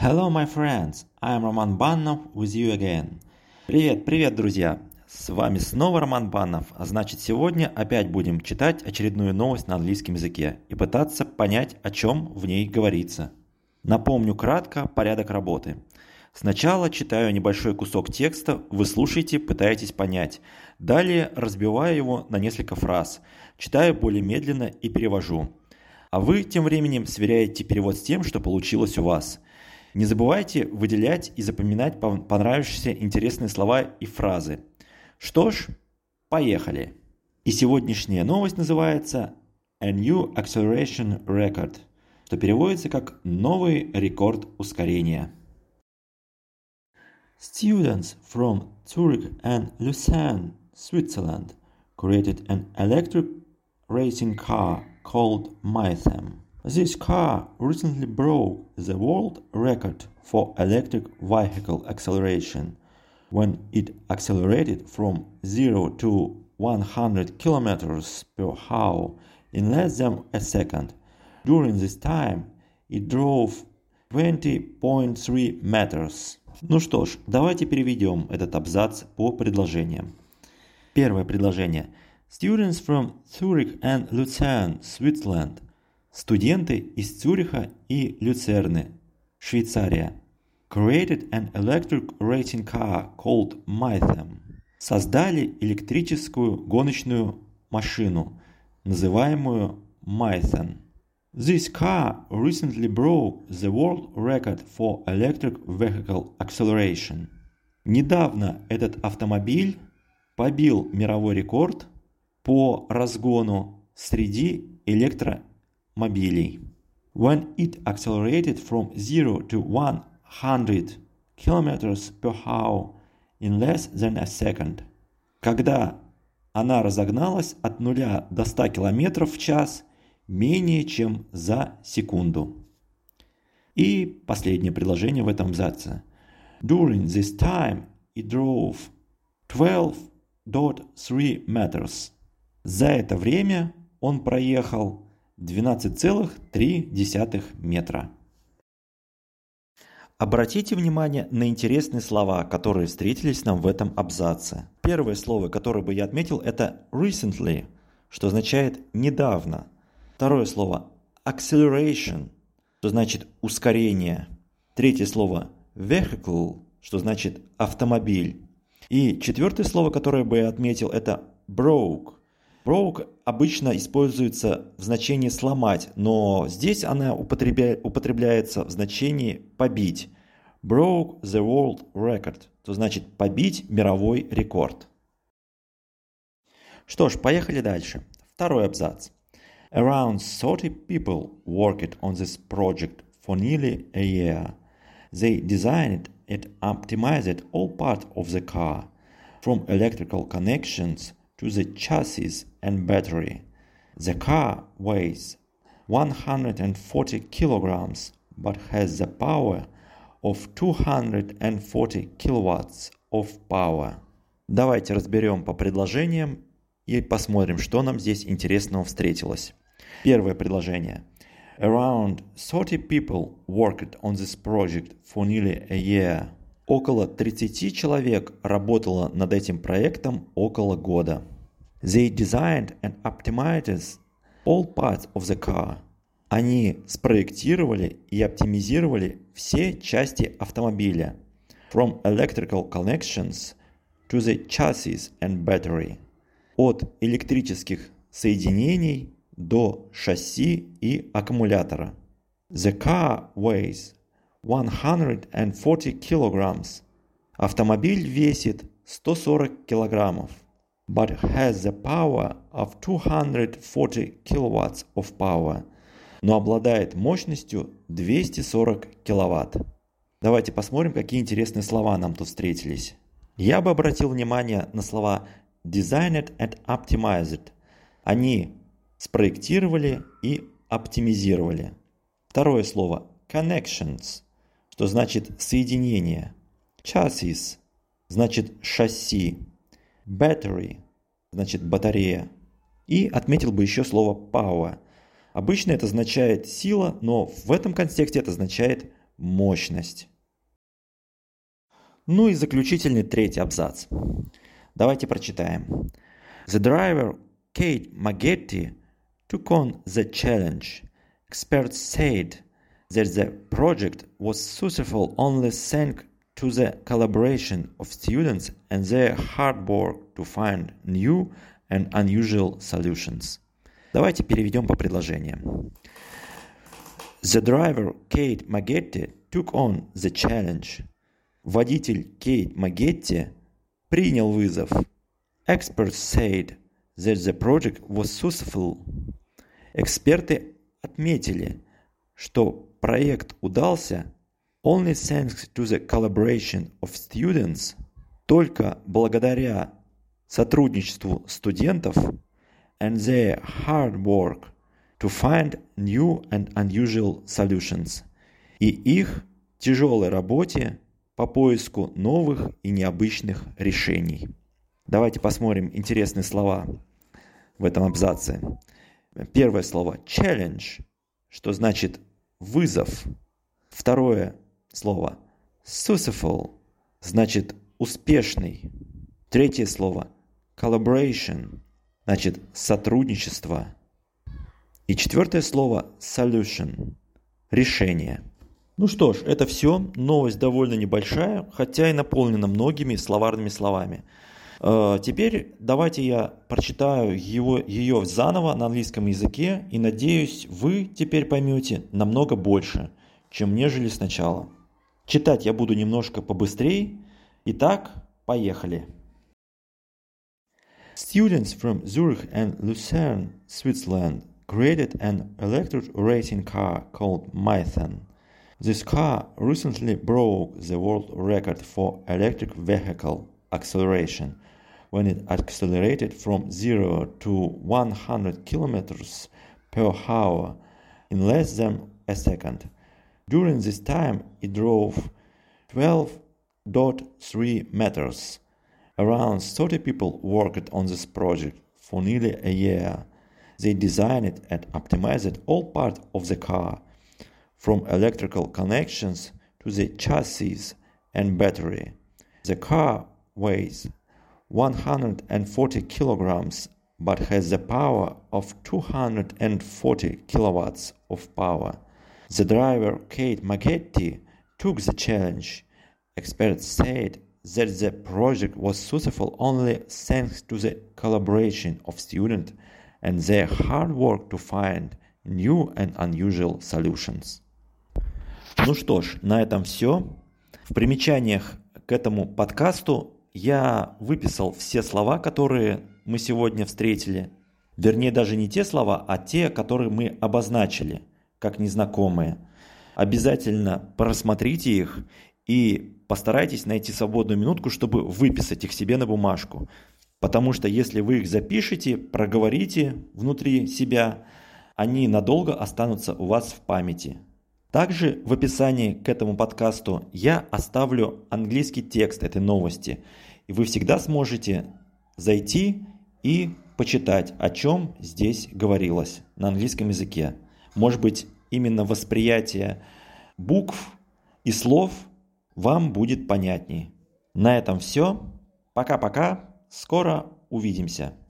Hello, my friends! I am Roman Banov with you again. Привет, друзья! С вами снова Роман Банов, а значит сегодня опять будем читать очередную новость на английском языке и пытаться понять, о чем в ней говорится. Напомню кратко порядок работы. Сначала читаю небольшой кусок текста, вы слушаете, пытаетесь понять. Далее разбиваю его на несколько фраз, читаю более медленно и перевожу. А вы тем временем сверяете перевод с тем, что получилось у вас. Не забывайте выделять и запоминать понравившиеся интересные слова и фразы. Что ж, поехали. И сегодняшняя новость называется A New Acceleration Record, что переводится как «Новый рекорд ускорения». Students from Zurich and Lucerne, Switzerland, created an electric racing car called Mythem. This car recently broke the world record for electric vehicle acceleration when it accelerated from 0 to 100 km per hour in less than a second. During this time, it drove 20.3 meters. Ну что ж, давайте переведем этот абзац по предложениям. Первое предложение. Students from Zurich and Lucerne, Switzerland. Студенты из Цюриха и Люцерны, Швейцария. Created an electric racing car called Mythem. Создали электрическую гоночную машину, называемую Mythen. This car recently broke the world record for electric vehicle acceleration. Недавно этот автомобиль побил мировой рекорд по разгону среди электромобилей. When it accelerated from 0 to 100 km per hour in less than a second. Когда она разогналась от 0 до 100 км в час менее чем за секунду. И последнее предложение в этом абзаце. During this time it drove 12.3 meters. За это время он проехал 12,3 метра. Обратите внимание на интересные слова, которые встретились нам в этом абзаце. Первое слово, которое бы я отметил, это recently, что означает недавно. Второе слово acceleration, что значит ускорение. Третье слово vehicle, что значит автомобиль. И четвертое слово, которое бы я отметил, это broke. Broke обычно используется в значении сломать, но здесь она употребляется в значении побить. Broke the world record, что значит побить мировой рекорд. Что ж, поехали дальше. Второй абзац. Around 30 people worked on this project for nearly a year. They designed and optimized all parts of the car, from electrical connections to the chassis and battery. The car weighs 140 kilograms but has the power of 240 kilowatts of power. Давайте разберем по предложениям и посмотрим, что нам здесь интересного встретилось. Первое предложение. Around 30 people worked on this project for nearly a year. Около 30 человек работало над этим проектом около года. They designed and optimized all parts of the car. Они спроектировали и оптимизировали все части автомобиля. From electrical connections to the chassis and battery. От электрических соединений до шасси и аккумулятора. The car weighs 140 kilograms. Автомобиль весит 140 килограммов. But has the power of 240 kilowatts of power. Но обладает мощностью 240 киловатт. Давайте посмотрим, какие интересные слова нам тут встретились. Я бы обратил внимание на слова designed and optimized. Они спроектировали и оптимизировали. Второе слово connections, что значит соединение. Chassis значит шасси. Battery значит батарея. И отметил бы еще слово power. Обычно это означает сила, но в этом контексте это означает мощность. Ну и заключительный третий абзац. Давайте прочитаем. The driver, Kate Maggette, took on the challenge. Experts said that the project was successful only thanks to the collaboration of students and their hard work to find new and unusual solutions. Давайте переведем по предложениям. The driver, Kate Maggette, took on the challenge. Водитель Кейт Магетти принял вызов. Experts said that the project was successful. Эксперты отметили, что проект удался only thanks to the collaboration of students, только благодаря сотрудничеству студентов and their hard work to find new and unusual solutions, и их тяжелой работе по поиску новых и необычных решений. Давайте посмотрим интересные слова в этом абзаце. Первое слово challenge, что значит вызов. Второе слово successful, значит успешный. Третье слово collaboration, значит сотрудничество. И четвертое слово solution, решение. Ну что ж, это все. Новость довольно небольшая, хотя и наполнена многими словарными словами. Теперь давайте я прочитаю ее заново на английском языке, и надеюсь, вы теперь поймете намного больше, чем нежели сначала. Читать я буду немножко побыстрее. Итак, поехали. Students from Zurich and Lucerne, Switzerland, created an electric racing car called Mython. This car recently broke the world record for electric vehicle acceleration when it accelerated from 0 to 100 kilometers per hour in less than a second. During this time, it drove 12.3 meters. Around 30 people worked on this project for nearly a year. They designed and optimized all parts of the car, from electrical connections to the chassis and battery. The car weighs 140 kilograms but has the power of 240 kilowatts of power. The driver, Kate Maggette, took the challenge. Experts said that the project was successful only thanks to the collaboration of students and their hard work to find new and unusual solutions. Ну что ж, на этом все. В примечаниях к этому подкасту я выписал все слова, которые мы сегодня встретили. Вернее, даже не те слова, а те, которые мы обозначили как незнакомые. Обязательно просмотрите их и постарайтесь найти свободную минутку, чтобы выписать их себе на бумажку. Потому что если вы их запишете, проговорите внутри себя, они надолго останутся у вас в памяти. Также в описании к этому подкасту я оставлю английский текст этой новости, и вы всегда сможете зайти и почитать, о чем здесь говорилось на английском языке. Может быть, именно восприятие букв и слов вам будет понятней. На этом все. Пока-пока. Скоро увидимся.